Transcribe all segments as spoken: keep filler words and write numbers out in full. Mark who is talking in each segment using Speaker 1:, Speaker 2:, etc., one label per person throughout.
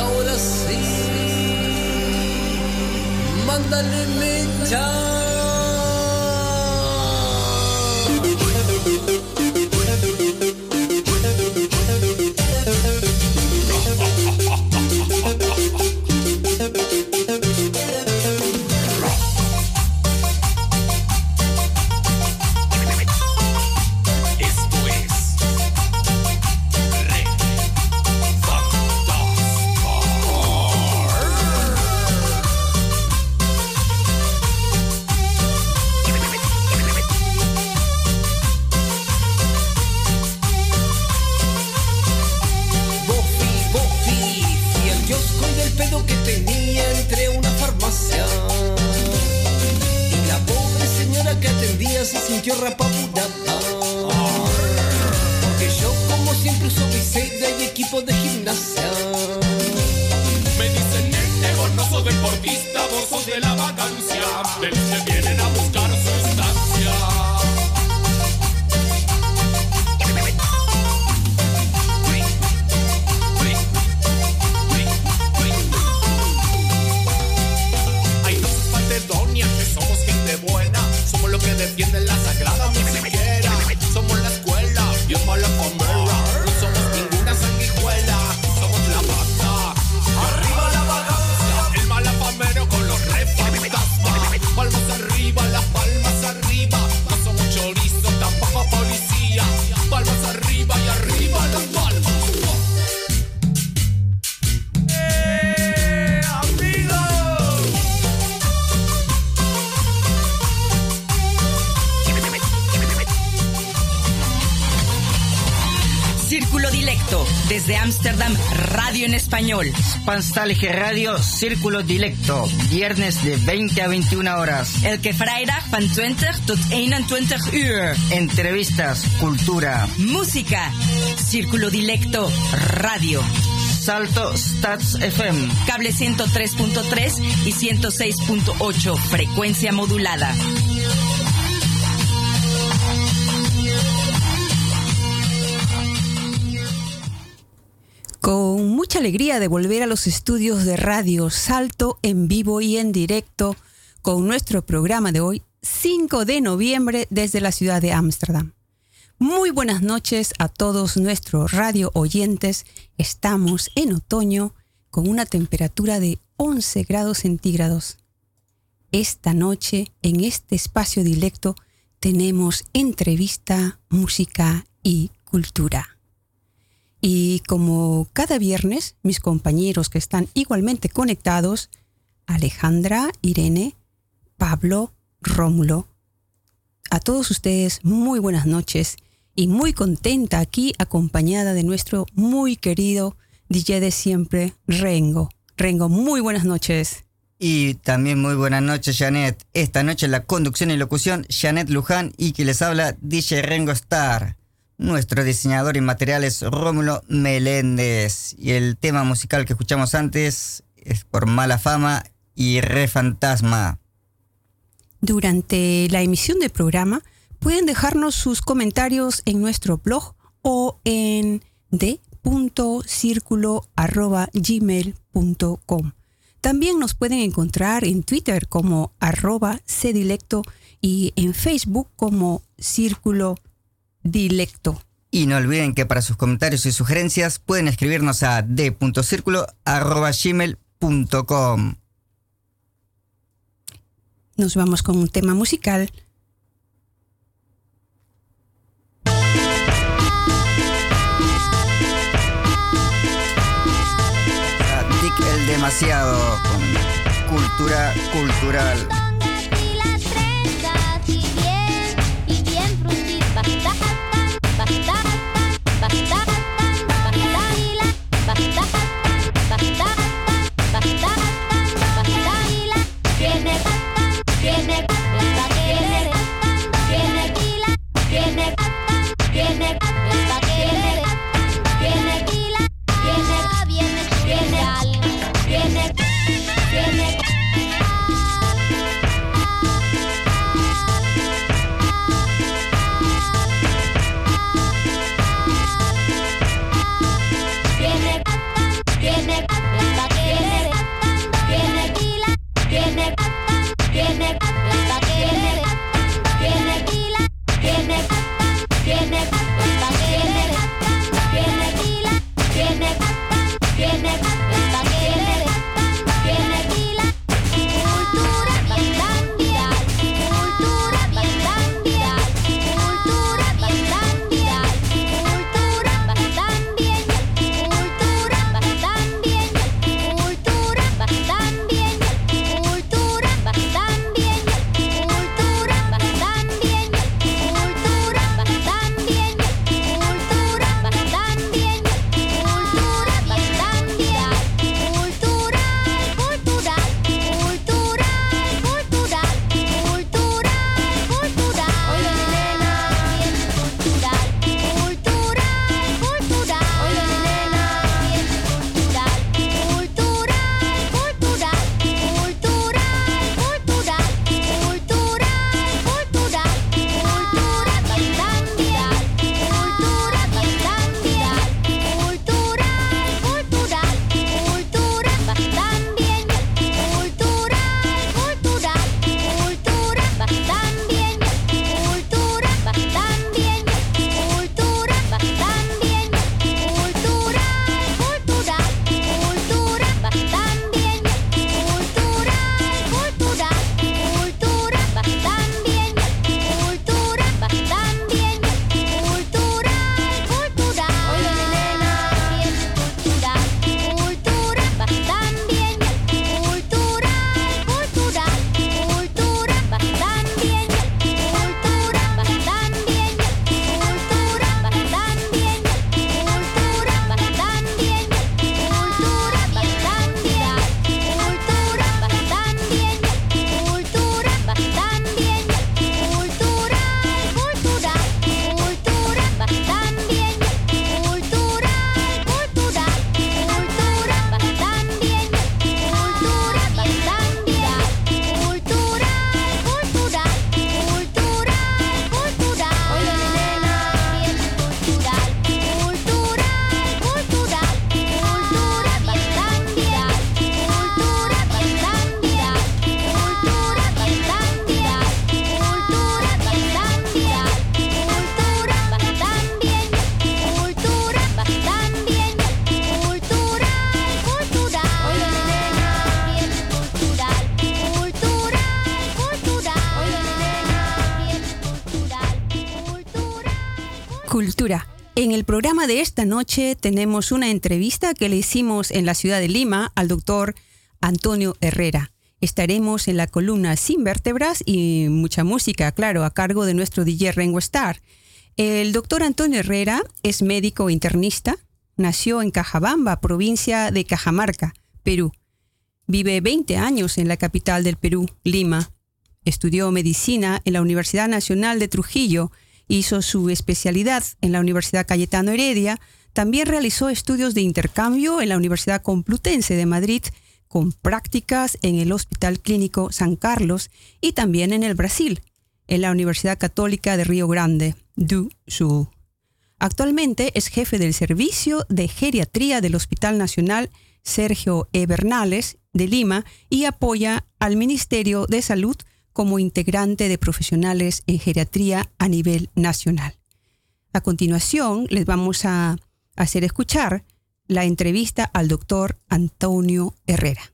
Speaker 1: ahora sí, mándale mecha. Se sintió rapabudada, porque yo como siempre uso Biseida y equipo de gimnasia.
Speaker 2: Me dicen nene, vos no sos deportista, vos sos de la vacancia, del que vienen a buscar sustancia. Ay, no se falte doña, que somos gente buena, somos los que defienden la sagrada musiquera, somos la escuela, bien mala pomera, no somos ninguna sanguijuela, somos la banda, arriba la vagancia, el malafamero con los re fantasmas, palmas arriba, las palmas arriba, no somos chorizo, tampoco policía, palmas arriba y arriba las palmas. ¡Eh, amigos!
Speaker 3: Círculo Dilecto, desde Ámsterdam, radio en español.
Speaker 4: Spanstalge Radio, Círculo Dilecto, viernes de veinte a veintiuna horas.
Speaker 3: Elke vrijdag van twintig tot eenentwintig uur.
Speaker 4: Entrevistas, cultura,
Speaker 3: música. Círculo Dilecto, radio.
Speaker 4: Salto Stats F M.
Speaker 3: Cable ciento tres punto tres y ciento seis punto ocho, frecuencia modulada.
Speaker 5: Con mucha alegría de volver a los estudios de Radio Salto en vivo y en directo con nuestro programa de hoy, cinco de noviembre, desde la ciudad de Ámsterdam. Muy buenas noches a todos nuestros radio oyentes. Estamos en otoño con una temperatura de once grados centígrados. Esta noche, en este espacio dilecto, tenemos entrevista, música y cultura. Y como cada viernes, mis compañeros que están igualmente conectados, Alejandra, Irene, Pablo, Rómulo, a todos ustedes muy buenas noches y muy contenta aquí acompañada de nuestro muy querido D J de siempre, Rengo. Rengo, muy buenas noches.
Speaker 4: Y también muy buenas noches, Janet. Esta noche en la conducción y locución, Janet Luján, y que les habla D J Rengo Star. Nuestro diseñador en materiales, Rómulo Meléndez. Y el tema musical que escuchamos antes es por Mala Fama y Re Fantasma.
Speaker 5: Durante la emisión del programa pueden dejarnos sus comentarios en nuestro blog o en d punto circulo arroba gmail punto com. También nos pueden encontrar en Twitter como arroba cdilecto y en Facebook como Círculo Dilecto.
Speaker 4: Y no olviden que para sus comentarios y sugerencias pueden escribirnos a d punto circulo arroba gmail punto com.
Speaker 5: Nos vamos con un tema musical.
Speaker 4: Dick el Demasiado con Cultura Cultural.
Speaker 6: Viene, viene, viene, viene, viene,
Speaker 5: Cultura. En el programa de esta noche tenemos una entrevista que le hicimos en la ciudad de Lima al doctor Antonio Herrera. Estaremos en la columna Sin Vértebras y mucha música, claro, a cargo de nuestro D J Rengo Star. El doctor Antonio Herrera es médico internista, nació en Cajabamba, provincia de Cajamarca, Perú. Vive veinte años en la capital del Perú, Lima. Estudió medicina en la Universidad Nacional de Trujillo, hizo su especialidad en la Universidad Cayetano Heredia, también realizó estudios de intercambio en la Universidad Complutense de Madrid, con prácticas en el Hospital Clínico San Carlos y también en el Brasil, en la Universidad Católica de Río Grande do Sul. Actualmente es jefe del Servicio de Geriatría del Hospital Nacional Sergio E. Bernales de Lima y apoya al Ministerio de Salud como integrante de profesionales en geriatría a nivel nacional. A continuación, les vamos a hacer escuchar la entrevista al doctor Antonio Herrera.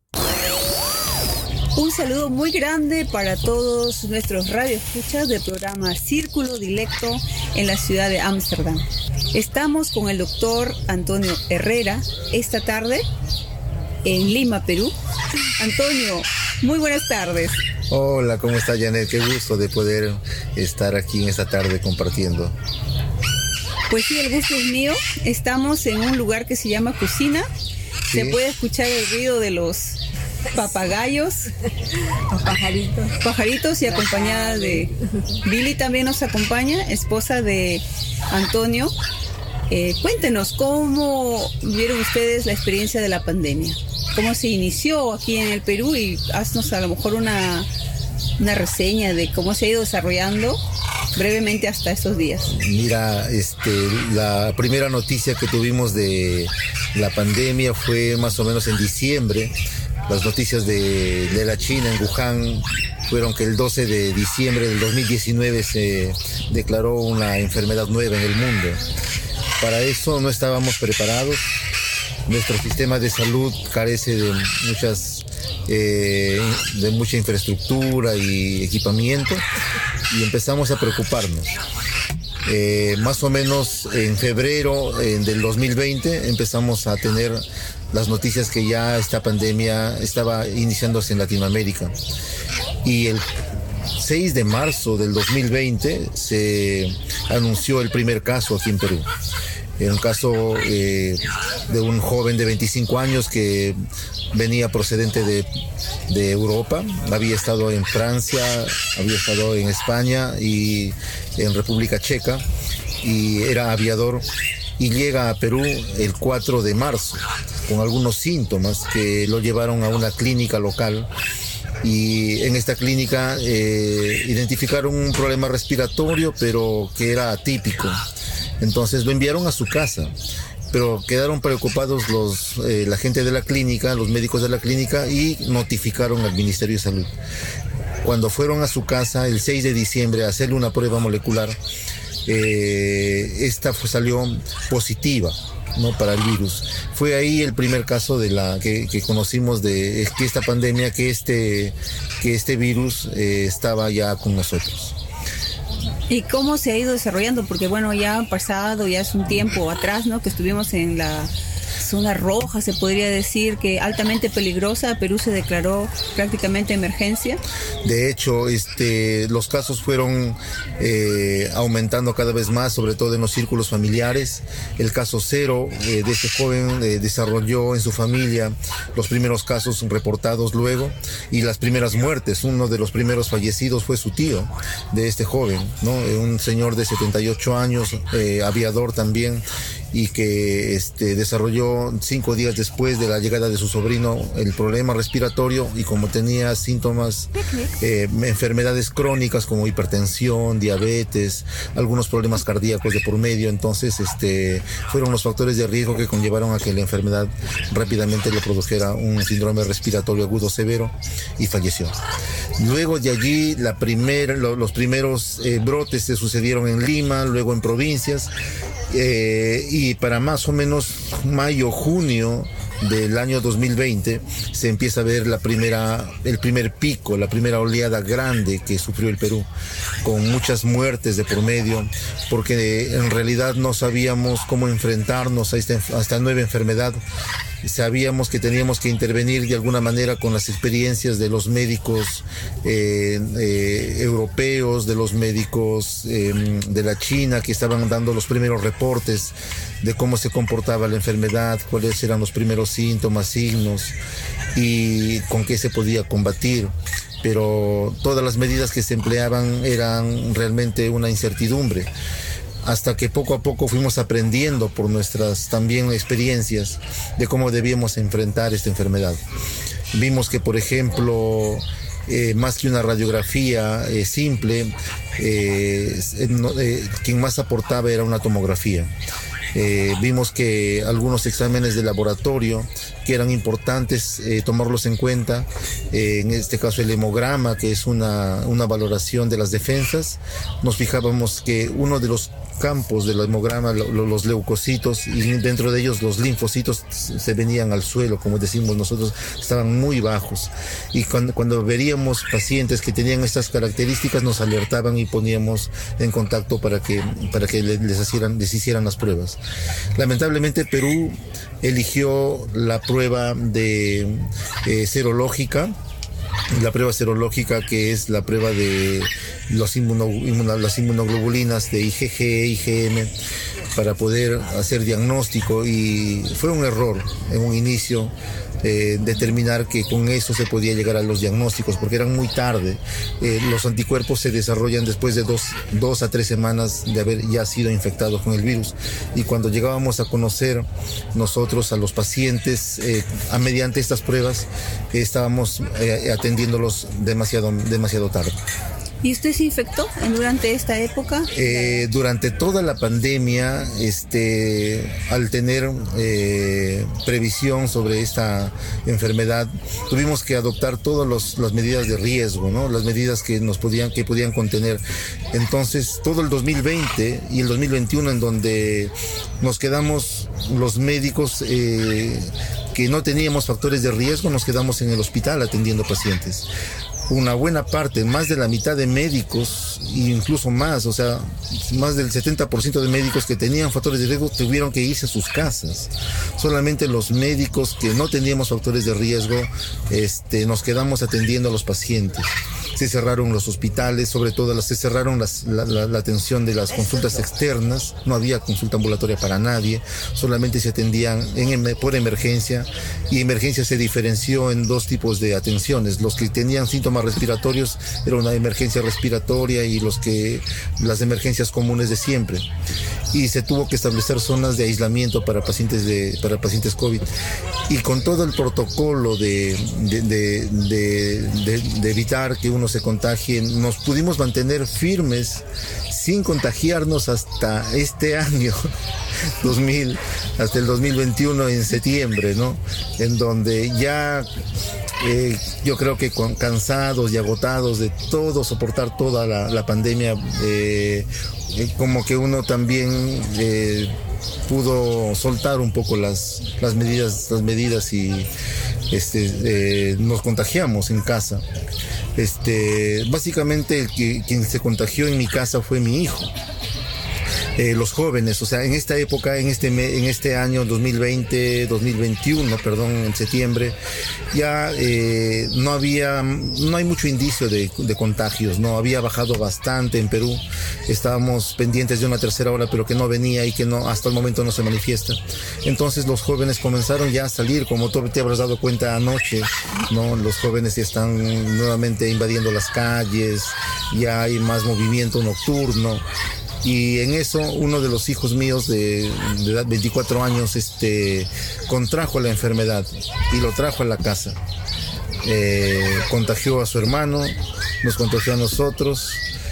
Speaker 5: Un saludo muy grande para todos nuestros radioescuchas del programa Círculo Dilecto en la ciudad de Ámsterdam. Estamos con el doctor Antonio Herrera esta tarde en Lima, Perú. Antonio, muy buenas tardes.
Speaker 6: Hola, ¿cómo está, Janet? Qué gusto de poder estar aquí en esta tarde compartiendo.
Speaker 5: Pues sí, el gusto es mío. Estamos en un lugar que se llama Cocina. Sí. Se puede escuchar el ruido de los papagayos, los pajaritos. Pajaritos y acompañada de Billy también nos acompaña, esposa de Antonio. Eh, cuéntenos, ¿cómo vieron ustedes la experiencia de la pandemia? ¿Cómo se inició aquí en el Perú? Y haznos a lo mejor una, una reseña de cómo se ha ido desarrollando brevemente hasta estos días.
Speaker 6: Mira, este, la primera noticia que tuvimos de la pandemia fue más o menos en diciembre. Las noticias de, de la China en Wuhan fueron que el doce de diciembre del dos mil diecinueve se declaró una enfermedad nueva en el mundo. Para eso no estábamos preparados. Nuestro sistema de salud carece de muchas eh, de mucha infraestructura y equipamiento y empezamos a preocuparnos. Eh, más o menos en febrero eh, del dos mil veinte empezamos a tener las noticias que ya esta pandemia estaba iniciándose en Latinoamérica. Y el seis de marzo del dos mil veinte se anunció el primer caso aquí en Perú. Era un caso eh, de un joven de veinticinco años que venía procedente de, de Europa. Había estado en Francia, había estado en España y en República Checa y era aviador y llega a Perú el cuatro de marzo con algunos síntomas que lo llevaron a una clínica local. Y en esta clínica eh, identificaron un problema respiratorio, pero que era atípico. Entonces lo enviaron a su casa, pero quedaron preocupados los, eh, la gente de la clínica, los médicos de la clínica, y notificaron al Ministerio de Salud. Cuando fueron a su casa el seis de diciembre a hacerle una prueba molecular, eh, esta fue, salió positiva, ¿no?, para el virus. Fue ahí el primer caso de la que, que conocimos de que esta pandemia, que este, que este virus eh, estaba ya con nosotros.
Speaker 5: ¿Y cómo se ha ido desarrollando? Porque bueno, ya ha pasado, ya es un tiempo atrás, ¿no?, que estuvimos en la zona roja, se podría decir, que altamente peligrosa. Perú se declaró prácticamente emergencia. De hecho, este, los casos fueron eh, aumentando cada vez más, sobre todo en los círculos familiares. El caso cero eh, de este joven eh, desarrolló en su familia los primeros casos reportados luego y las primeras muertes. Uno de los primeros fallecidos fue su tío de este joven, ¿no? Un señor de setenta y ocho años, eh, aviador también, y que este, desarrolló cinco días después de la llegada de su sobrino el problema respiratorio, y como tenía síntomas, eh, enfermedades crónicas como hipertensión, diabetes, algunos problemas cardíacos de por medio, entonces este, fueron los factores de riesgo que conllevaron a que la enfermedad rápidamente le produjera un síndrome respiratorio agudo severo y falleció. Luego de allí la primer, lo, los primeros eh, brotes se sucedieron en Lima, luego en provincias. Eh, y para más o menos mayo, junio
Speaker 6: del año dos mil veinte se empieza a ver la primera, el primer pico, la primera oleada grande que sufrió el Perú, con muchas muertes de por medio, porque en realidad no sabíamos cómo enfrentarnos a esta, a esta nueva enfermedad. Sabíamos que teníamos que intervenir de alguna manera con las experiencias de los médicos eh, eh, europeos, de los médicos eh, de la China, que estaban dando los primeros reportes de cómo se comportaba la enfermedad, cuáles eran los primeros síntomas, signos y con qué se podía combatir. Pero todas las medidas que se empleaban eran realmente una incertidumbre, hasta que poco a poco fuimos aprendiendo por nuestras también experiencias de cómo debíamos enfrentar esta enfermedad. Vimos que, por ejemplo, eh, más que una radiografía eh, simple, eh, eh, quien más aportaba era una tomografía. Eh, vimos que algunos exámenes de laboratorio que eran importantes eh, tomarlos en cuenta, eh, en este caso el hemograma, que es una, una valoración de las defensas, nos fijábamos que uno de los campos del hemograma, lo, lo, los leucocitos, y dentro de ellos los linfocitos se venían al suelo, como decimos nosotros, estaban muy bajos, y cuando, cuando veríamos pacientes que tenían estas características nos alertaban y poníamos en contacto para que, para que les, hicieran, les hicieran las pruebas. Lamentablemente Perú eligió la prueba de eh, serológica, la prueba serológica que es la prueba de los inmuno, inmuno, las inmunoglobulinas de I G G, I G M, para poder hacer diagnóstico, y fue un error en un inicio eh, determinar que con eso se podía llegar a los diagnósticos, porque eran muy tarde. Eh, los anticuerpos se desarrollan después de dos, dos a tres semanas de haber ya sido infectados con el virus, y cuando llegábamos a conocer nosotros a los pacientes eh, a mediante estas pruebas, eh, estábamos eh, atendiéndolos demasiado, demasiado tarde.
Speaker 5: ¿Y usted se infectó durante esta época?
Speaker 6: Eh, durante toda la pandemia, este, al tener eh, previsión sobre esta enfermedad, tuvimos que adoptar todas los, las medidas de riesgo, ¿no? Las medidas que nos podían, que podían contener. Entonces, todo el dos mil veinte y el dos mil veintiuno, en donde nos quedamos los médicos eh, que no teníamos factores de riesgo, nos quedamos en el hospital atendiendo pacientes. Una buena parte, más de la mitad de médicos, e incluso más, o sea, más del setenta por ciento de médicos que tenían factores de riesgo tuvieron que irse a sus casas. Solamente los médicos que no teníamos factores de riesgo, este, nos quedamos atendiendo a los pacientes. Se cerraron los hospitales, sobre todo las, se cerraron las, la, la, la atención de las consultas externas, no había consulta ambulatoria para nadie, solamente se atendían en, por emergencia, y emergencia se diferenció en dos tipos de atenciones. Los que tenían síntomas respiratorios era una emergencia respiratoria, y los que las emergencias comunes de siempre. Y se tuvo que establecer zonas de aislamiento para pacientes de para pacientes COVID. Y con todo el protocolo de, de, de, de, de, de evitar que uno se contagie, nos pudimos mantener firmes sin contagiarnos hasta este año dos mil, hasta el dos mil veintiuno en septiembre, ¿no? En donde ya eh, yo creo que con, cansados y agotados de todo, soportar toda la, la pandemia, eh, eh, como que uno también eh, pudo soltar un poco las, las medidas, las medidas y este, eh, nos contagiamos en casa. Este, básicamente el que, quien se contagió en mi casa fue mi hijo. Eh, los jóvenes, o sea, en esta época, en este en este año dos mil veinte, dos mil veintiuno, perdón, en septiembre, ya eh, no había, no hay mucho indicio de, de contagios, no había bajado bastante en Perú. Estábamos pendientes de una tercera ola, pero que no venía y que no, hasta el momento no se manifiesta. Entonces los jóvenes comenzaron ya a salir, como tú te habrás dado cuenta anoche, ¿no? Los jóvenes ya están nuevamente invadiendo las calles, ya hay más movimiento nocturno. Y en eso uno de los hijos míos de, de edad veinticuatro años este, contrajo la enfermedad y lo trajo a la casa. Eh, contagió a su hermano, nos contagió a nosotros,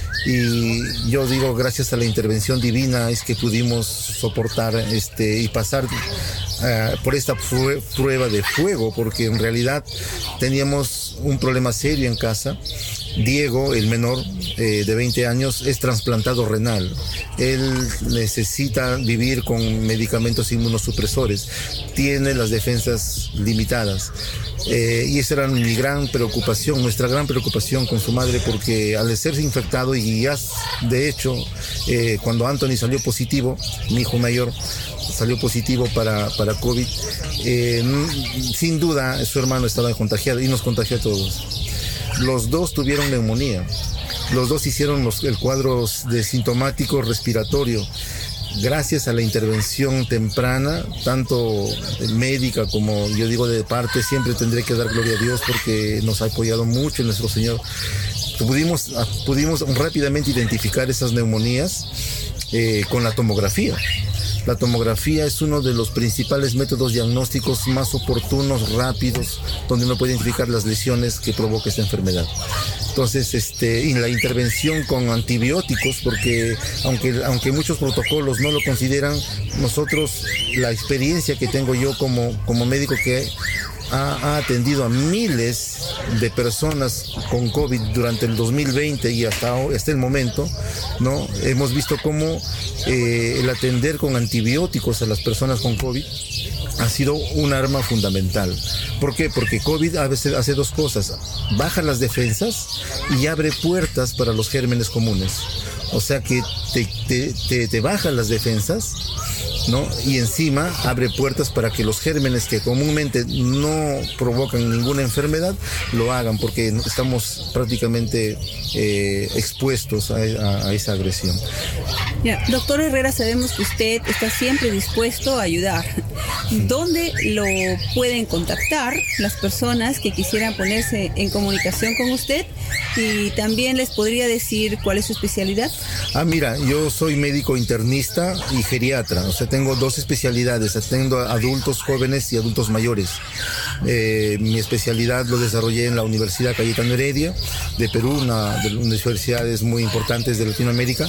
Speaker 6: y yo digo, gracias a la intervención divina es que pudimos soportar este, y pasar uh, por esta prueba de fuego, porque en realidad teníamos un problema serio en casa. Diego, el menor, eh, de veinte años, es trasplantado renal. Él necesita vivir con medicamentos inmunosupresores. Tiene las defensas limitadas. Eh, y esa era mi gran preocupación, nuestra gran preocupación con su madre, porque al ser infectado, y ya de hecho, eh, cuando Anthony salió positivo, mi hijo mayor salió positivo para, para COVID, eh, sin duda su hermano estaba contagiado y nos contagió a todos. Los dos tuvieron neumonía, los dos hicieron los, el cuadro de sintomático respiratorio. Gracias a la intervención temprana, tanto médica como yo digo de parte, siempre tendré que dar gloria a Dios porque nos ha apoyado mucho nuestro Señor. Pudimos, pudimos rápidamente identificar esas neumonías eh, con la tomografía. La tomografía es uno de los principales métodos diagnósticos más oportunos, rápidos, donde uno puede identificar las lesiones que provoca esta enfermedad. Entonces, este, y la intervención con antibióticos, porque aunque, aunque muchos protocolos no lo consideran, nosotros, la experiencia que tengo yo como, como médico que ha, ha atendido a miles de personas con COVID durante el dos mil veinte y hasta, hasta el momento, ¿no? Hemos visto cómo eh, el atender con antibióticos a las personas con COVID ha sido un arma fundamental. ¿Por qué? Porque COVID a veces hace dos cosas: baja las defensas y abre puertas para los gérmenes comunes. O sea que te, te, te, te baja las defensas, ¿no? Y encima abre puertas para que los gérmenes que comúnmente no provocan ninguna enfermedad lo hagan, porque estamos prácticamente eh, expuestos a, a, a esa agresión.
Speaker 5: Ya, doctor Herrera, sabemos que usted está siempre dispuesto a ayudar. ¿Dónde lo pueden contactar las personas que quisieran ponerse en comunicación con usted? Y también les podría decir cuál es su especialidad.
Speaker 6: Ah, mira, yo soy médico internista y geriatra, o sea, tengo dos especialidades, atiendo a adultos jóvenes y adultos mayores. Eh, mi especialidad lo desarrollé en la Universidad Cayetano Heredia de Perú, una de las universidades muy importantes de Latinoamérica.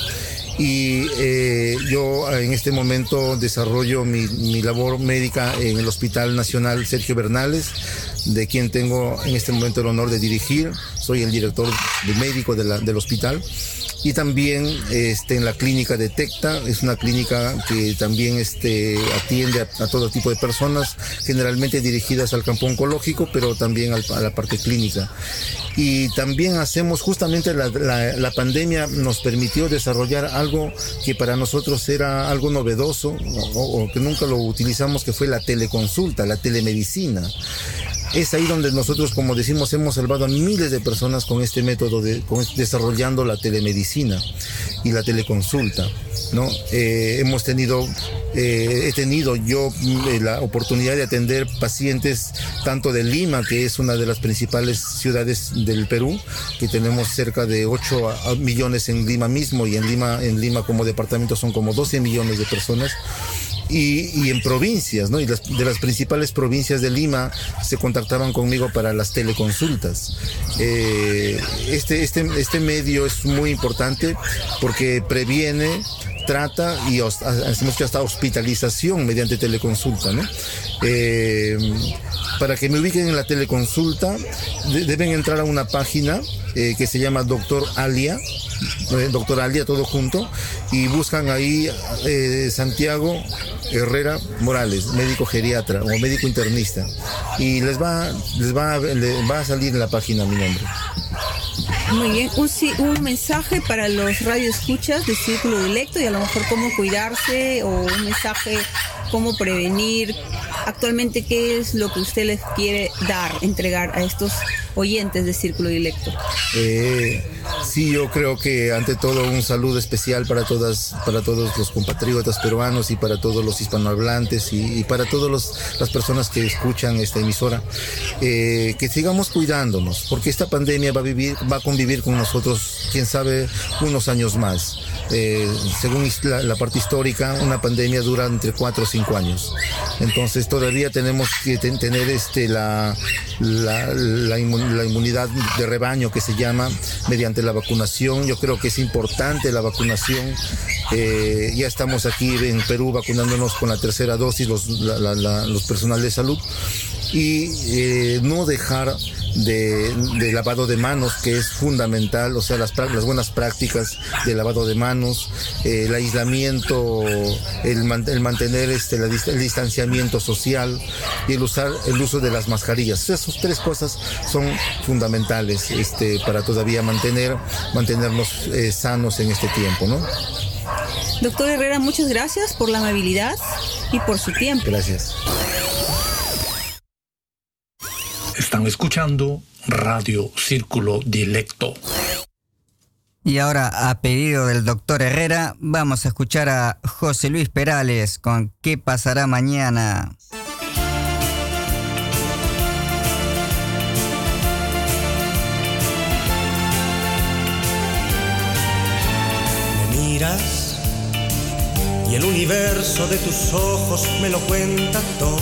Speaker 6: Y eh, yo en este momento desarrollo mi, mi labor médica en el Hospital Nacional Sergio Bernales, de quien tengo en este momento el honor de dirigir. Soy el director de médico de la, del hospital. Y también este, en la clínica Detecta, es una clínica que también este, atiende a, a todo tipo de personas, generalmente dirigidas al campo oncológico, pero también al, a la parte clínica. Y también hacemos, justamente la, la, la pandemia nos permitió desarrollar algo que para nosotros era algo novedoso, o, o que nunca lo utilizamos, que fue la teleconsulta, la telemedicina. Es ahí donde nosotros, como decimos, hemos salvado a miles de personas con este método, de, con, desarrollando la telemedicina y la teleconsulta, ¿no? Eh, hemos tenido, eh, he tenido yo eh, la oportunidad de atender pacientes tanto de Lima, que es una de las principales ciudades del Perú, que tenemos cerca de ocho millones en Lima mismo, y en Lima, en Lima como departamento son como doce millones de personas. Y, y en provincias, ¿no? Y las, de las principales provincias de Lima se contactaban conmigo para las teleconsultas. Eh, este, este, este medio es muy importante porque previene, trata y hacemos que hasta hospitalización mediante teleconsulta, ¿no? Eh, para que me ubiquen en la teleconsulta, de, deben entrar a una página eh, que se llama Doctor Alia, eh, Doctor Alia todo junto, y buscan ahí eh, Santiago Herrera Morales, médico geriatra o médico internista, y les va, les va, les va a salir en la página mi nombre.
Speaker 5: Muy bien, un, un mensaje para los radioescuchas de Círculo Dilecto, y a lo mejor cómo cuidarse, o un mensaje cómo prevenir. Actualmente, ¿qué es lo que usted les quiere dar, entregar a estos oyentes de Círculo Dilecto? Eh,
Speaker 6: sí, yo creo que ante todo un saludo especial para todas, para todos los compatriotas peruanos y para todos los hispanohablantes y, y para todas las personas que escuchan esta emisora. Eh, que sigamos cuidándonos, porque esta pandemia va a vivir, va a convivir con nosotros, quién sabe, unos años más. Eh, según la, la parte histórica, una pandemia dura entre cuatro o cinco años. Entonces todavía tenemos que ten, tener este, la, la, la, inmun, la inmunidad de rebaño, que se llama, mediante la vacunación. Yo creo que es importante la vacunación. Eh, ya estamos aquí en Perú vacunándonos con la tercera dosis, los, la, la, la, los personal de salud. Y eh, no dejar de, de lavado de manos, que es fundamental, o sea, las, las buenas prácticas de lavado de manos, eh, el aislamiento, el, man, el mantener este, la, el distanciamiento social y el usar el uso de las mascarillas. Esas tres cosas son fundamentales este, para todavía mantener, mantenernos eh, sanos en este tiempo, ¿no?
Speaker 5: Doctor Herrera, muchas gracias por la amabilidad y por su tiempo.
Speaker 6: Gracias.
Speaker 7: Están escuchando Radio Círculo Dilecto.
Speaker 4: Y ahora, a pedido del doctor Herrera, vamos a escuchar a José Luis Perales con ¿Qué pasará mañana?
Speaker 8: Me miras y el universo de tus ojos me lo cuenta todo.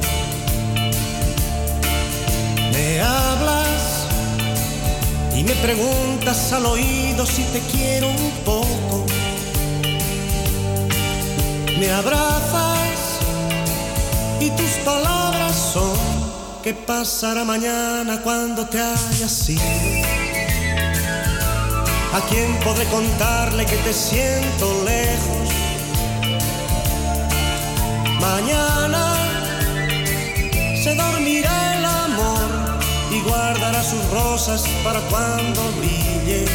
Speaker 8: Me hablas y me preguntas al oído si te quiero un poco. Me abrazas y tus palabras son ¿qué pasará mañana cuando te hayas ido? ¿A quién podré contarle que te siento lejos? Mañana se dormirá el amor y guardará sus rosas para cuando brille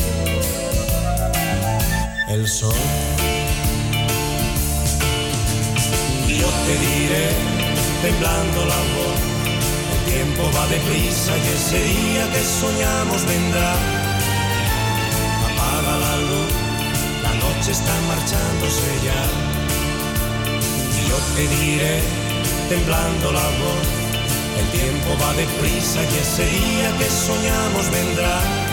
Speaker 8: el sol. Y yo te diré, temblando la voz, el tiempo va deprisa y ese día que soñamos vendrá. Apaga la luz, la noche está marchándose ya. Y yo te diré, temblando la voz, el tiempo va deprisa y ese día que soñamos vendrá.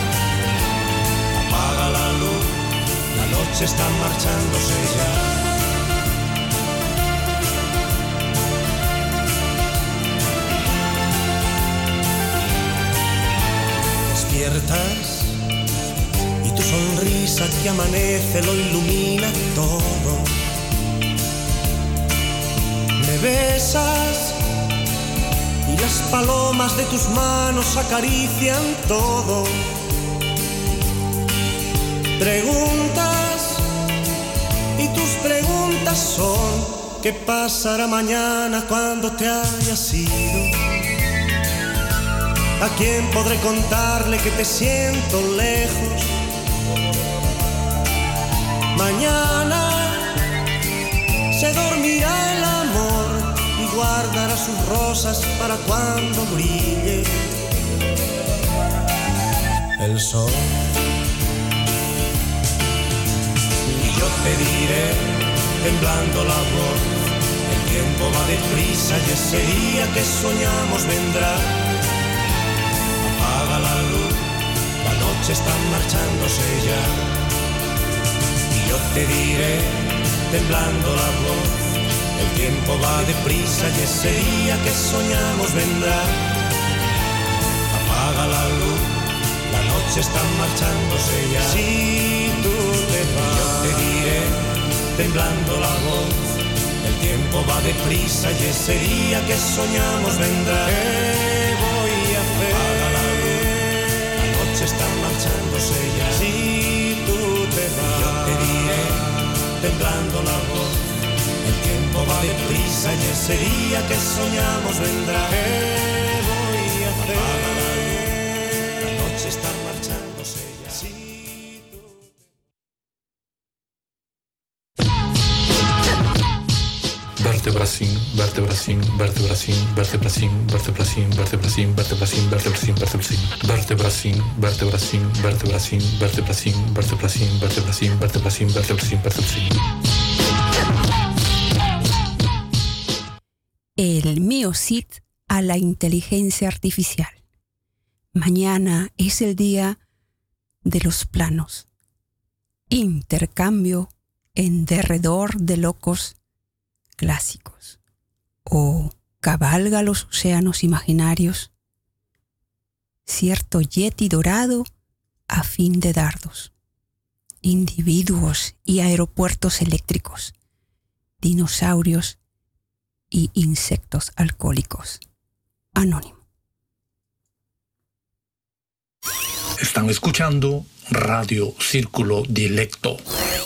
Speaker 8: Apaga la luz, la noche está marchándose ya. Despiertas y tu sonrisa que amanece lo ilumina todo. Me besas y las palomas de tus manos acarician todo. Preguntas y tus preguntas son ¿qué pasará mañana cuando te hayas ido? ¿A quién podré contarle que te siento lejos? Mañana se dormirá el amor y guardará sus rosas para cuando brille el sol. Y yo te diré, temblando la voz, el tiempo va deprisa y ese día que soñamos vendrá. Apaga la luz, la noche está marchándose ya. Y yo te diré, temblando la voz, el tiempo va deprisa y ese día que soñamos vendrá. Apaga la luz, la noche está marchándose ya. Si tú te vas, yo te diré, temblando la voz, el tiempo va deprisa y ese día que soñamos vendrá. ¿Qué voy a hacer? Apaga la luz, la noche está marchándose ya. Si tú te vas, yo te diré, temblando la voz, el tiempo va deprisa y ese día que soñamos vendrá. ¿Qué voy a hacer? Apaga la luz, la noche está marchándose ya. Si tú
Speaker 7: Vertebracín, vertebracín, vertebracín, vertebracín, vertebracín, vertebracín, vertebracín, vertebracín, vertebracín, vertebracín, vertebracín, vertebracín, vertebracín, vertebracín, vertebracín, vertebracín, vertebracín, vertebracín.
Speaker 5: El MioCit a la inteligencia artificial. Mañana es el día de los planos. Intercambio en derredor de locos clásicos. O cabalga los océanos imaginarios. Cierto yeti dorado a fin de dardos. Individuos y aeropuertos eléctricos. Dinosaurios y insectos alcohólicos. Anónimo.
Speaker 7: Están escuchando Radio Círculo Dilecto.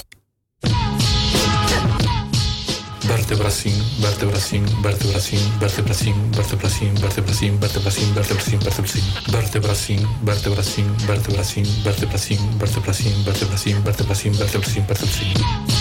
Speaker 7: Vertebracín, vertebracín, vertebracín, vertebracín, vertebracín, vertebracín, vertebracín, vertebracín, vertebracín, vertebracín, vertebracín, vertebracín, vertebracín, vertebracín, vertebracín, vertebracín, vertebracín, vertebracín.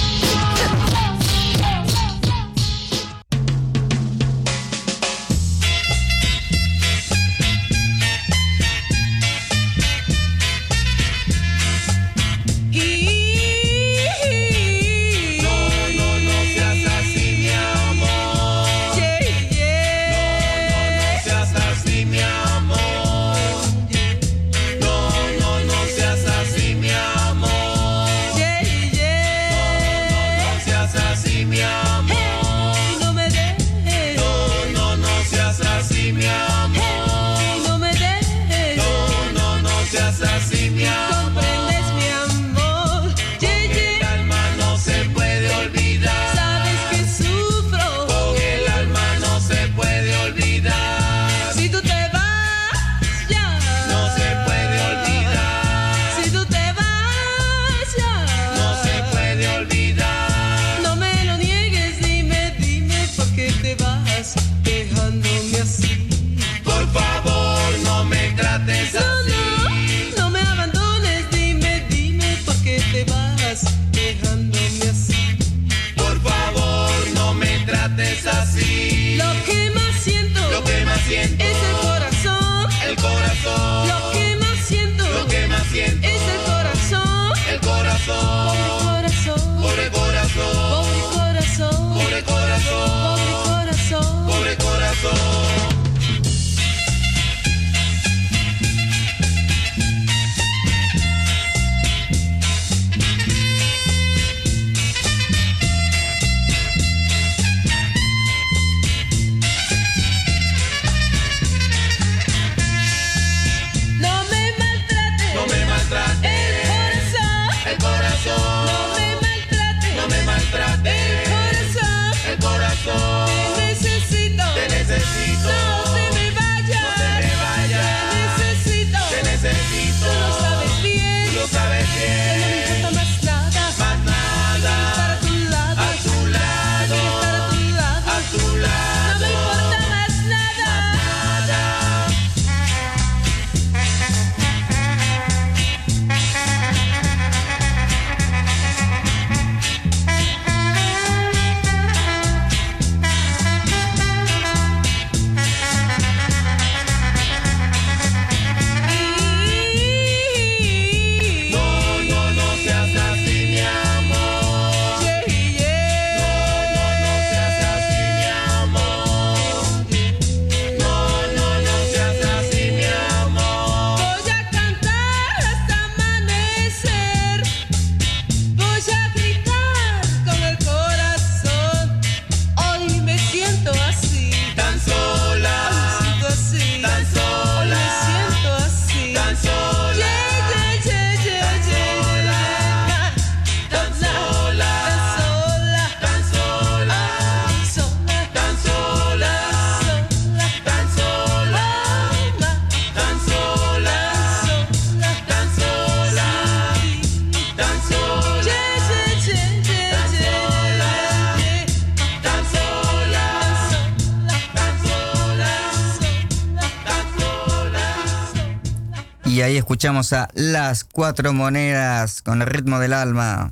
Speaker 4: Y ahí escuchamos a Las Cuatro Monedas con el ritmo del alma.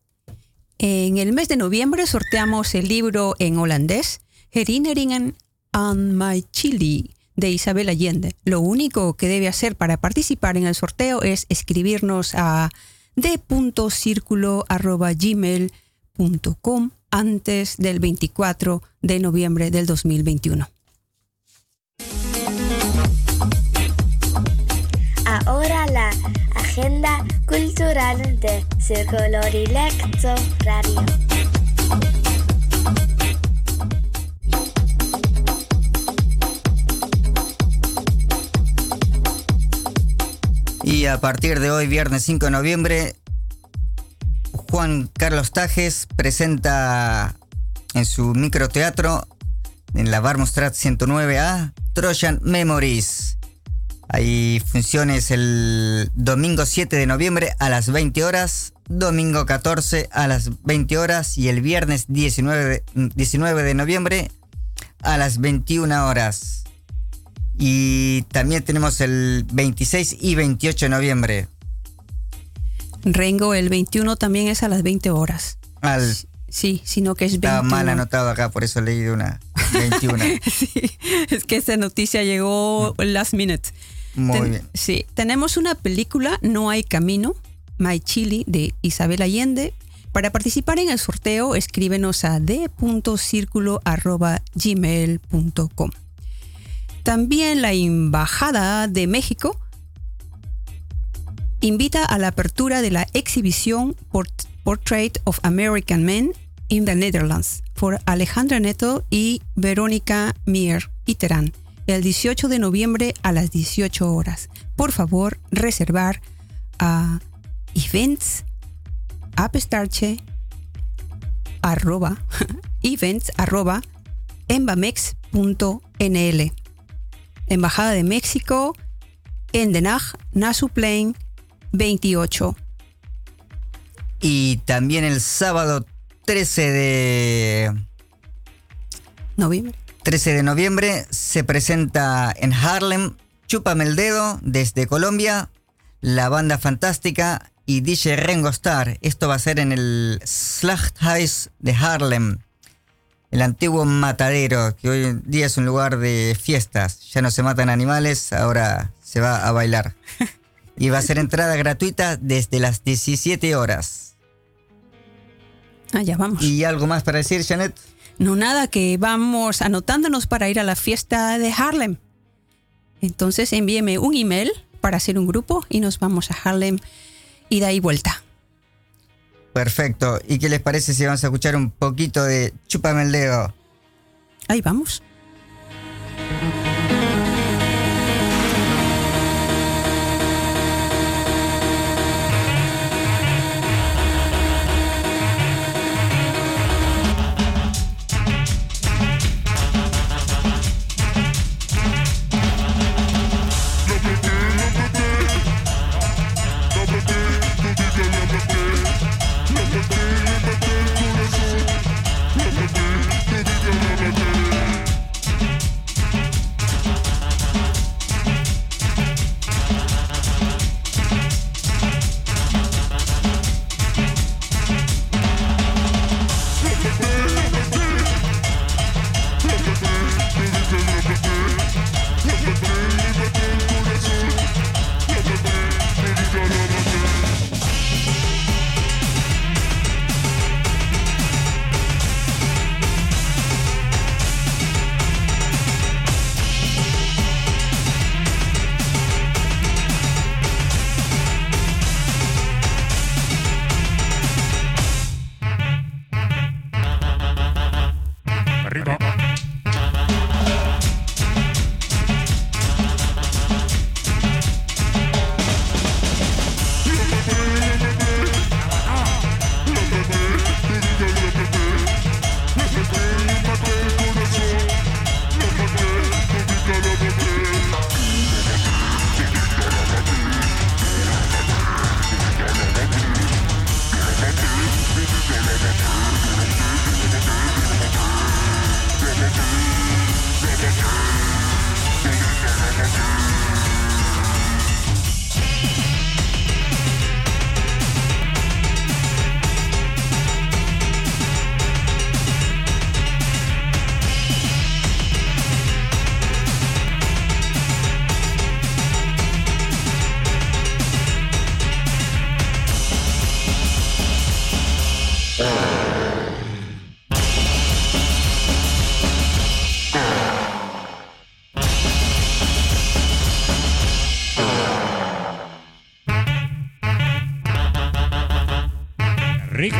Speaker 5: En el mes de noviembre sorteamos el libro en holandés Herinneringen aan my Chili de Isabel Allende. Lo único que debe hacer para participar en el sorteo es escribirnos a d punto circulo arroba gmail punto com antes del veinticuatro de noviembre del dos mil veintiuno.
Speaker 9: Ahora la agenda cultural de Círculo Dilecto Radio.
Speaker 4: Y a partir de hoy, viernes cinco de noviembre, Juan Carlos Tajes presenta en su microteatro en la Barmostrat ciento nueve A Trojan Memories. Hay funciones el domingo siete de noviembre a las veinte horas, domingo catorce a las veinte horas y el viernes diecinueve de noviembre a las veintiuna horas. Y también tenemos el veintiséis y veintiocho de noviembre.
Speaker 5: Rengo, el veintiuno también es a las veinte horas.
Speaker 4: Al,
Speaker 5: sí, sino que es
Speaker 4: estaba
Speaker 5: veintiuno.
Speaker 4: mal anotado acá, por eso leí de una veintiuna.
Speaker 5: Sí, es que esa noticia llegó last minute.
Speaker 4: Muy
Speaker 5: Ten,
Speaker 4: bien.
Speaker 5: Sí, tenemos una película, No hay camino, My Chili, de Isabel Allende. Para participar en el sorteo, escríbenos a d punto circulo arroba gmail punto com. También la Embajada de México invita a la apertura de la exhibición Port- Portrait of American Men in the Netherlands por Alejandra Neto y Verónica Mier y Terán, el dieciocho de noviembre a las dieciocho horas. Por favor, reservar a events apestarche arroba events arroba embamex punto n l. Embajada de México en Den Haag, Nassauplein veintiocho.
Speaker 4: Y también el sábado trece de
Speaker 5: noviembre.
Speaker 4: trece de noviembre se presenta en Haarlem Chúpame el Dedo desde Colombia, la banda fantástica y D J Rengo Starr. Esto va a ser en el Slachthuis de Haarlem, el antiguo matadero, que hoy en día es un lugar de fiestas. Ya no se matan animales, ahora se va a bailar. Y va a ser entrada gratuita desde las diecisiete horas.
Speaker 5: Ah, ya vamos.
Speaker 4: ¿Y algo más para decir, Janet?
Speaker 5: No, nada, que vamos anotándonos para ir a la fiesta de Haarlem. Entonces envíeme un email para hacer un grupo y nos vamos a Haarlem y de ahí vuelta.
Speaker 4: Perfecto. ¿Y qué les parece si vamos a escuchar un poquito de Chúpame el Dedo?
Speaker 5: Ahí vamos.
Speaker 8: Rico.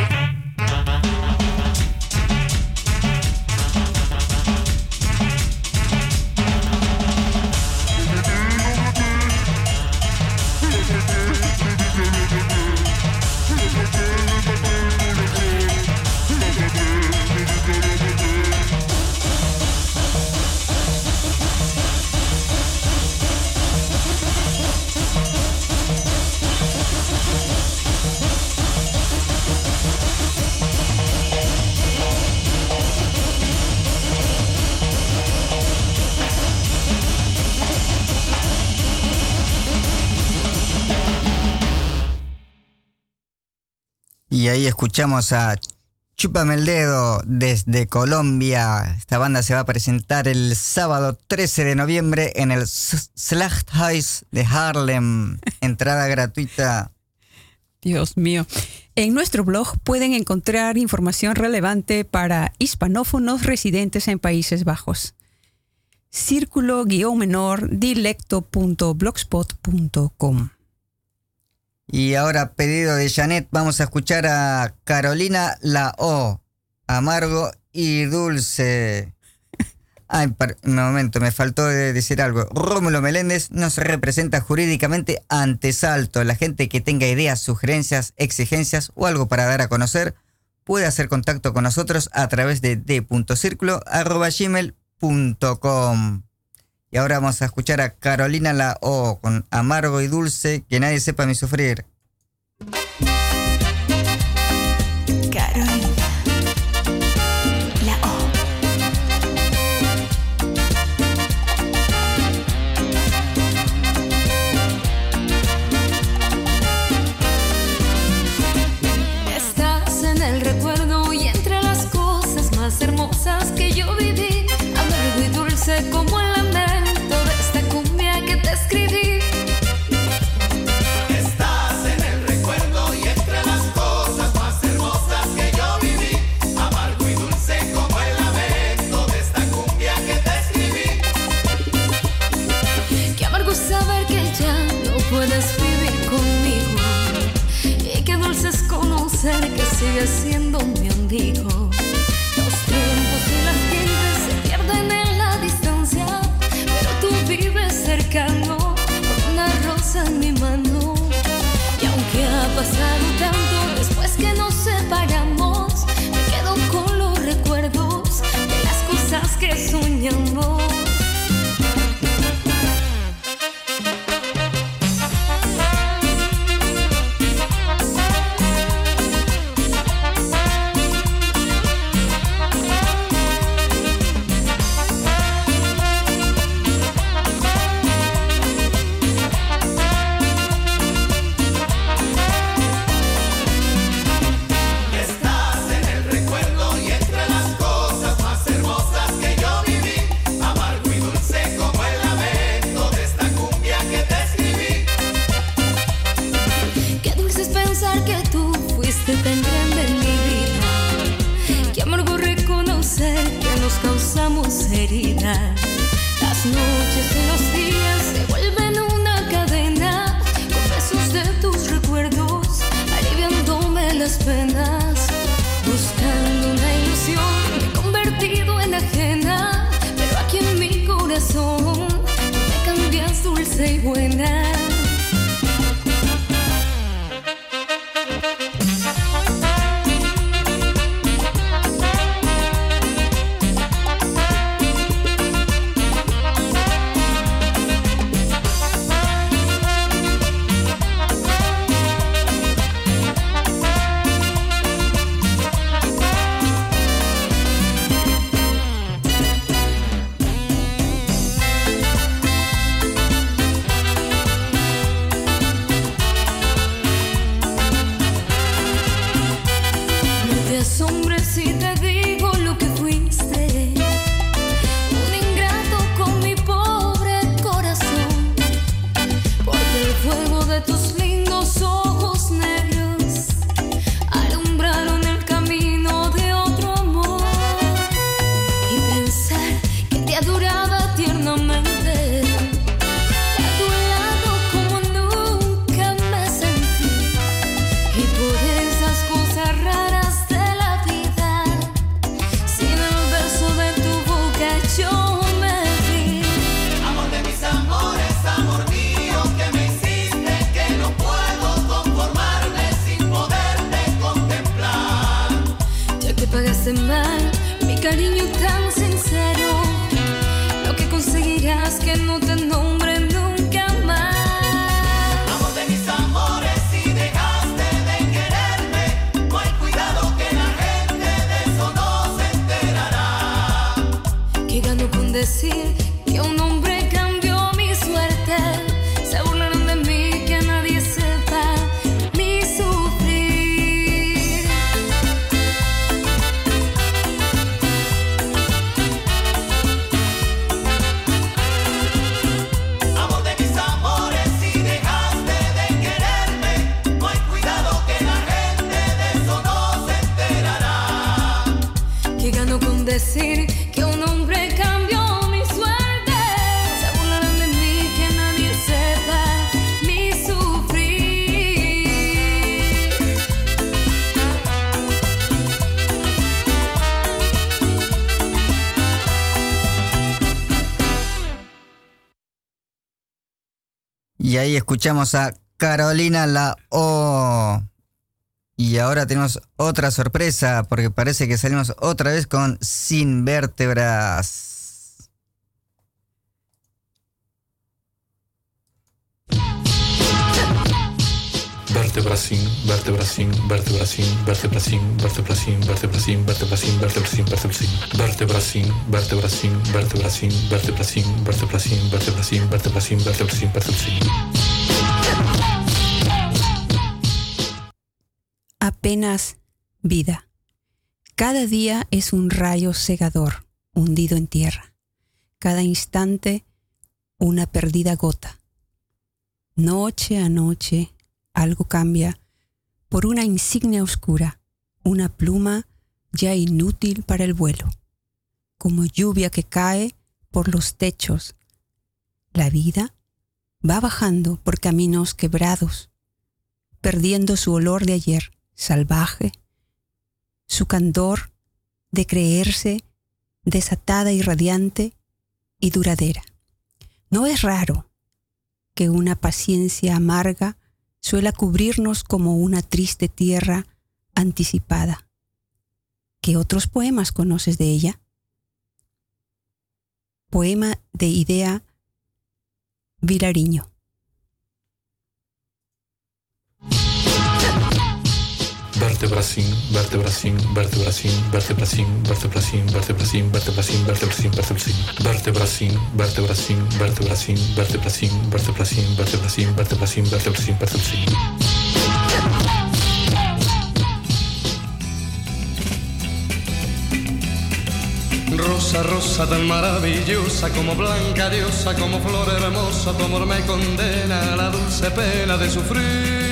Speaker 4: ahí escuchamos a Chúpame el Dedo desde Colombia. Esta banda se va a presentar el sábado trece de noviembre en el Slachthuis de Haarlem. Entrada gratuita.
Speaker 5: Dios mío. En nuestro blog pueden encontrar información relevante para hispanófonos residentes en Países Bajos. Círculo-menor dilecto punto blogspot punto com.
Speaker 4: Y ahora, pedido de Janet, vamos a escuchar a Carolina La O, Amargo y Dulce. Ay, un momento, me faltó decir algo. Rómulo Meléndez nos representa jurídicamente ante Salto. La gente que tenga ideas, sugerencias, exigencias o algo para dar a conocer puede hacer contacto con nosotros a través de d punto circulo arroba gmail punto com. Y ahora vamos a escuchar a Carolina La O con Amargo y Dulce, que nadie sepa mi sufrir.
Speaker 10: Carolina La O.
Speaker 11: Estás en el recuerdo y entre las cosas más hermosas que yo viví, amargo y dulce como el lamento de esta cumbia que te escribí.
Speaker 2: Estás en el recuerdo y entre las cosas más hermosas que yo viví, amargo y dulce como el lamento de esta cumbia que te escribí.
Speaker 11: Qué amargo saber que ya no puedes vivir conmigo, y qué dulce es conocer que sigues siendo mi amigo. Los tiempos y las gentes se pierden en la distancia, pero tú vives cercano con una rosa en mi mano. Y aunque ha pasado tanto después que nos separamos, me quedo con los recuerdos de las cosas que soñamos.
Speaker 2: Estás en el recuerdo y entre las cosas más hermosas que yo viví, amargo y dulce como el lamento de esta cumbia que te escribí.
Speaker 11: Qué dulce es pensar que tú fuiste tan grande en mi vida. Qué amargo reconocer que nos causamos heridas. Las noches y los días se vuelven una cadena, con besos de tus recuerdos, aliviándome las penas. Buscando una ilusión, me he convertido en ajena, pero aquí en mi corazón tú me cambias dulce y buena. No te asombres si te digo lo que fuiste, un ingrato con mi pobre corazón, porque el fuego de tus lindos ojos negros alumbraron el camino de otro amor. Y pensar que te adoraba tiernamente, que a tu lado como nunca me sentí, y por esas cosas raras de la vida, sin el beso de tu boca yo me vi.
Speaker 2: Amor de mis amores, amor mío, que me hiciste que no puedo conformarme sin poderte contemplar.
Speaker 11: Ya que pagaste mal mi cariño tan sincero, lo que conseguirás que no te nombre nunca más.
Speaker 2: Amor de mis amores, si dejaste de quererme, no hay cuidado que la gente de eso no se enterará.
Speaker 11: Que gano con decir que un hombre cambió mi suerte, se burlaron de mí, que nadie sepa mi sufrir.
Speaker 4: Y ahí escuchamos a Carolina La O. Y ahora tenemos otra sorpresa, porque parece que salimos otra vez con Sin Vértebras.
Speaker 7: Vertebracín, vertebracín, vertebracín, vertebracín, vertebracín, vertebracín, vertebracín, vertebracín, vertebracín, vertebracín, vertebracín, vertebracín, vertebracín, vertebracín, vertebracín, vertebracín, vertebracín, vertebracín.
Speaker 5: Apenas vida. Cada día es un rayo cegador hundido en tierra. Cada instante una perdida gota. Noche a noche algo cambia por una insignia oscura, una pluma ya inútil para el vuelo, como lluvia que cae por los techos. La vida va bajando por caminos quebrados, perdiendo su olor de ayer, salvaje, su candor de creerse desatada y radiante y duradera. No es raro que una paciencia amarga suela cubrirnos como una triste tierra anticipada. ¿Qué otros poemas conoces de ella? Poema de Idea Vilariño.
Speaker 7: Vertebracín, vertebracín, vertebracín, vertebracín, vertebracín, vertebracín, vertebracín, vertebracín, vertebracín, vertebracín, vertebracín, vertebracín, vertebracín, vertebracín, vertebracín, vertebracín, vertebracín, vertebracín.
Speaker 12: Rosa, rosa tan maravillosa, como blanca diosa, como flor hermosa, tu amor me condena a la dulce pena de sufrir.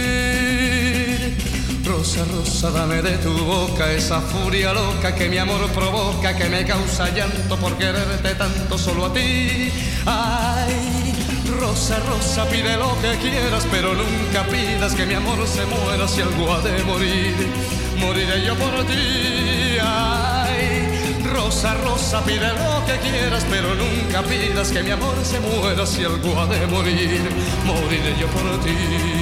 Speaker 12: Rosa, rosa, dame de tu boca esa furia loca que mi amor provoca, que me causa llanto por quererte tanto solo a ti. Ay, rosa, rosa, pide lo que quieras, pero nunca pidas que mi amor se muera. Si algo ha de morir, moriré yo por ti. Ay, rosa, rosa, pide lo que quieras, pero nunca pidas que mi amor se muera. Si algo ha de morir, moriré yo por ti.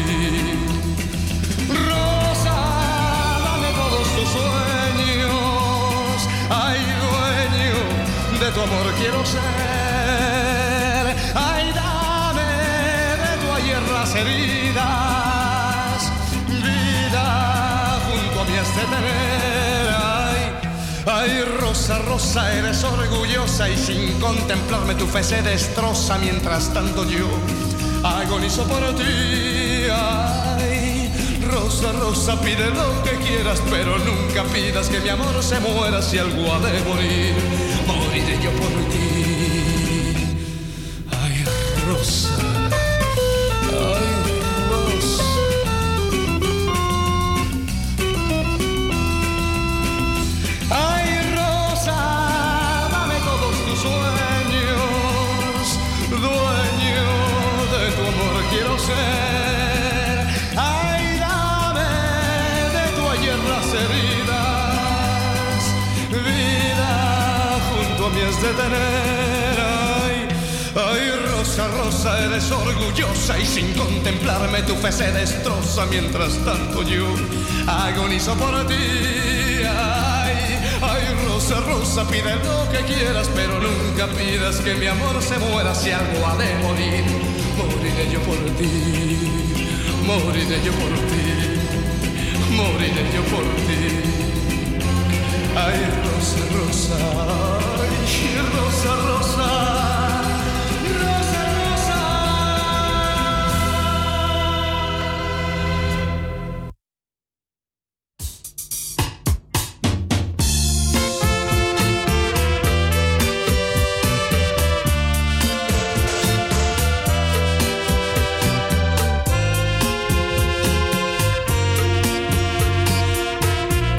Speaker 12: Tus sueños, ay, dueño de tu amor quiero ser. Ay, dame de tu ayer las heridas, vida junto a mí has de tener. Ay, ay, rosa, rosa, eres orgullosa y sin contemplarme tu fe se destroza. Mientras tanto yo agonizo por ti. Ay, rosa, rosa, pide lo que quieras, pero nunca pidas que mi amor se muera. Si algo ha de morir, moriré yo por ti. Ay, rosa, ay, rosa. Ay, rosa, dame todos tus sueños, dueño de tu amor quiero ser. De tener, ay, ay, rosa, rosa, eres orgullosa y sin contemplarme tu fe se destroza. Mientras tanto yo agonizo por ti. Ay, ay, rosa, rosa, pide lo que quieras, pero nunca pidas que mi amor se muera. Si algo ha de morir, moriré yo por ti, moriré yo por ti, moriré yo por ti. Ay, rosa, rosa, ay, rosa, rosa, rosa, rosa.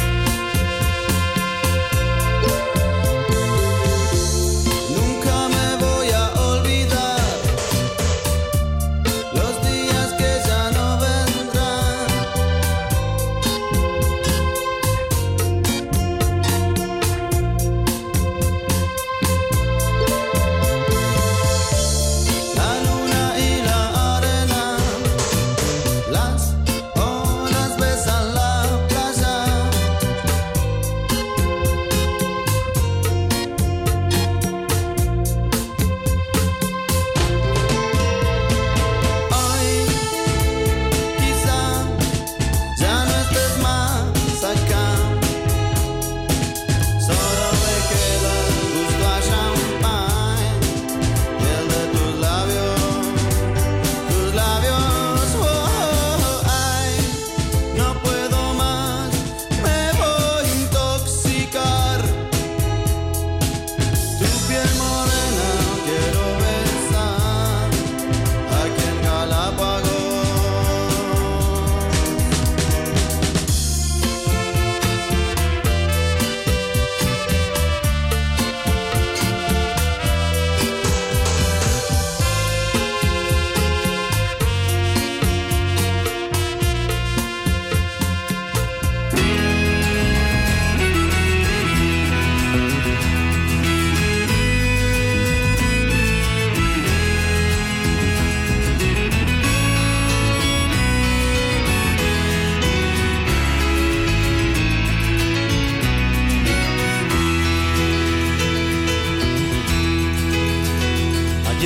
Speaker 13: Nunca me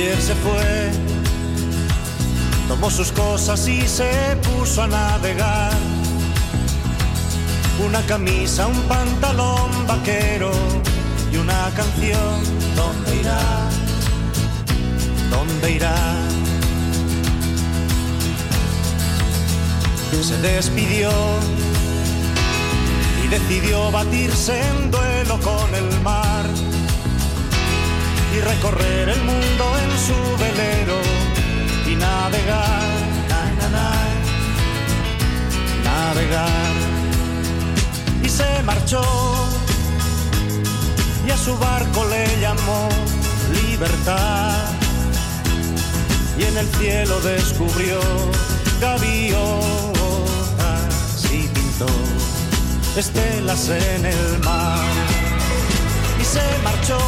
Speaker 8: ayer se fue, tomó sus cosas y se puso a navegar. Una camisa, un pantalón vaquero y una canción. ¿Dónde irá? ¿Dónde irá? Se despidió y decidió batirse en duelo con el mar y recorrer el mundo en su velero y navegar, na, na, na, navegar. Y se marchó y a su barco le llamó Libertad, y en el cielo descubrió gaviotas y pintó estelas en el mar. Y se marchó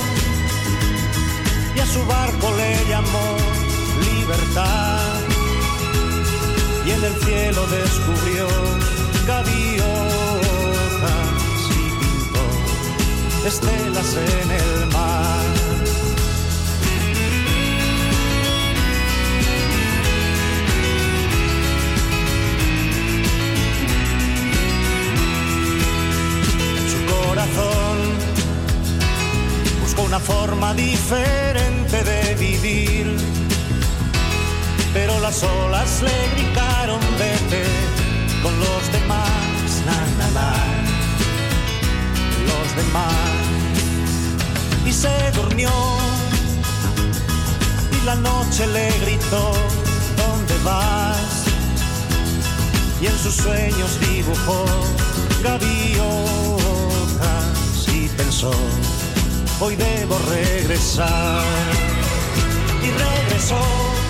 Speaker 8: y a su barco le llamó Libertad, y en el cielo descubrió gaviotas y pintó estelas en el mar. Buscó una forma diferente de vivir, pero las olas le gritaron vete con los demás, na, na, na, los demás. Y se durmió y la noche le gritó ¿dónde vas? Y en sus sueños dibujó gaviotas y pensó hoy debo regresar. Y regresó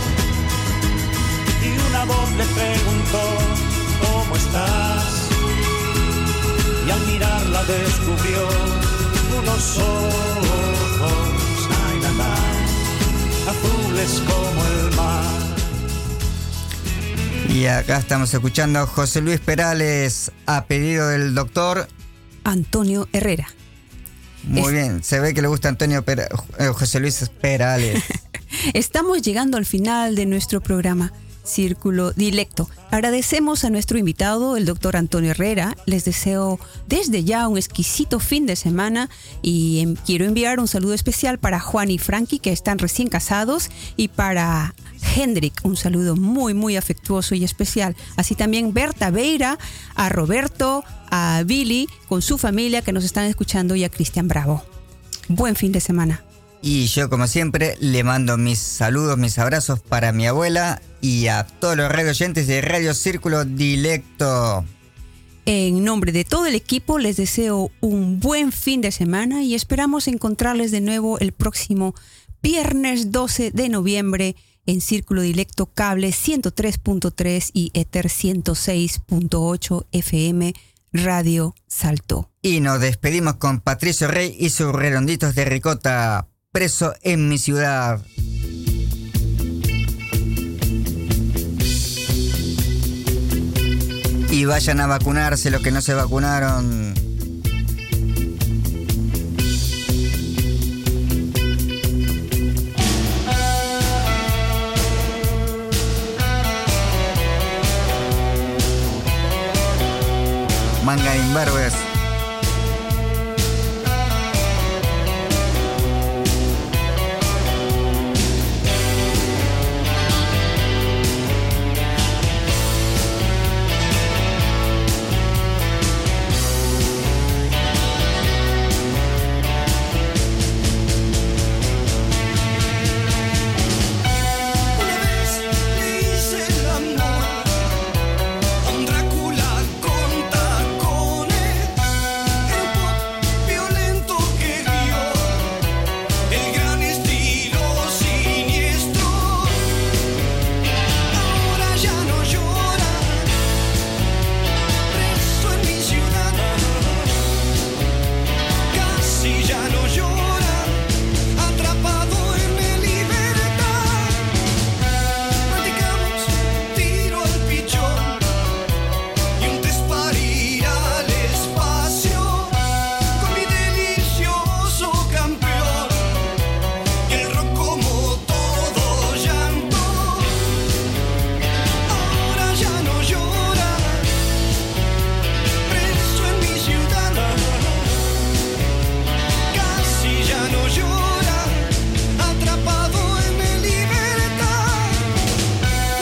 Speaker 8: y una voz le preguntó ¿cómo estás? Y al mirarla descubrió unos ojos, ay, na, na, azules como el mar.
Speaker 4: Y acá estamos escuchando a José Luis Perales a pedido del doctor
Speaker 5: Antonio Herrera.
Speaker 4: Muy
Speaker 5: es...
Speaker 4: bien, se ve que le gusta Antonio Per... eh, José Luis Perales.
Speaker 5: Estamos llegando al final de nuestro programa Círculo Dilecto. Agradecemos a nuestro invitado, el doctor Antonio Herrera. Les deseo desde ya un exquisito fin de semana y eh, quiero enviar un saludo especial para Juan y Frankie, que están recién casados, y para Hendrik, un saludo muy muy afectuoso y especial. Así también Berta Beira, a Roberto, a Billy con su familia que nos están escuchando, y a Cristian Bravo. Buen fin de semana.
Speaker 4: Y yo, como siempre, le mando mis saludos, mis abrazos para mi abuela y a todos los radio oyentes de Radio Círculo Dilecto.
Speaker 5: En nombre de todo el equipo les deseo un buen fin de semana y esperamos encontrarles de nuevo el próximo viernes doce de noviembre en Círculo Dilecto Cable ciento tres punto tres y Ether ciento seis punto ocho F M Radio Salto.
Speaker 4: Y nos despedimos con Patricio Rey y sus redonditos de ricota, Preso en mi ciudad. Y vayan a vacunarse los que no se vacunaron. Manga imberbes.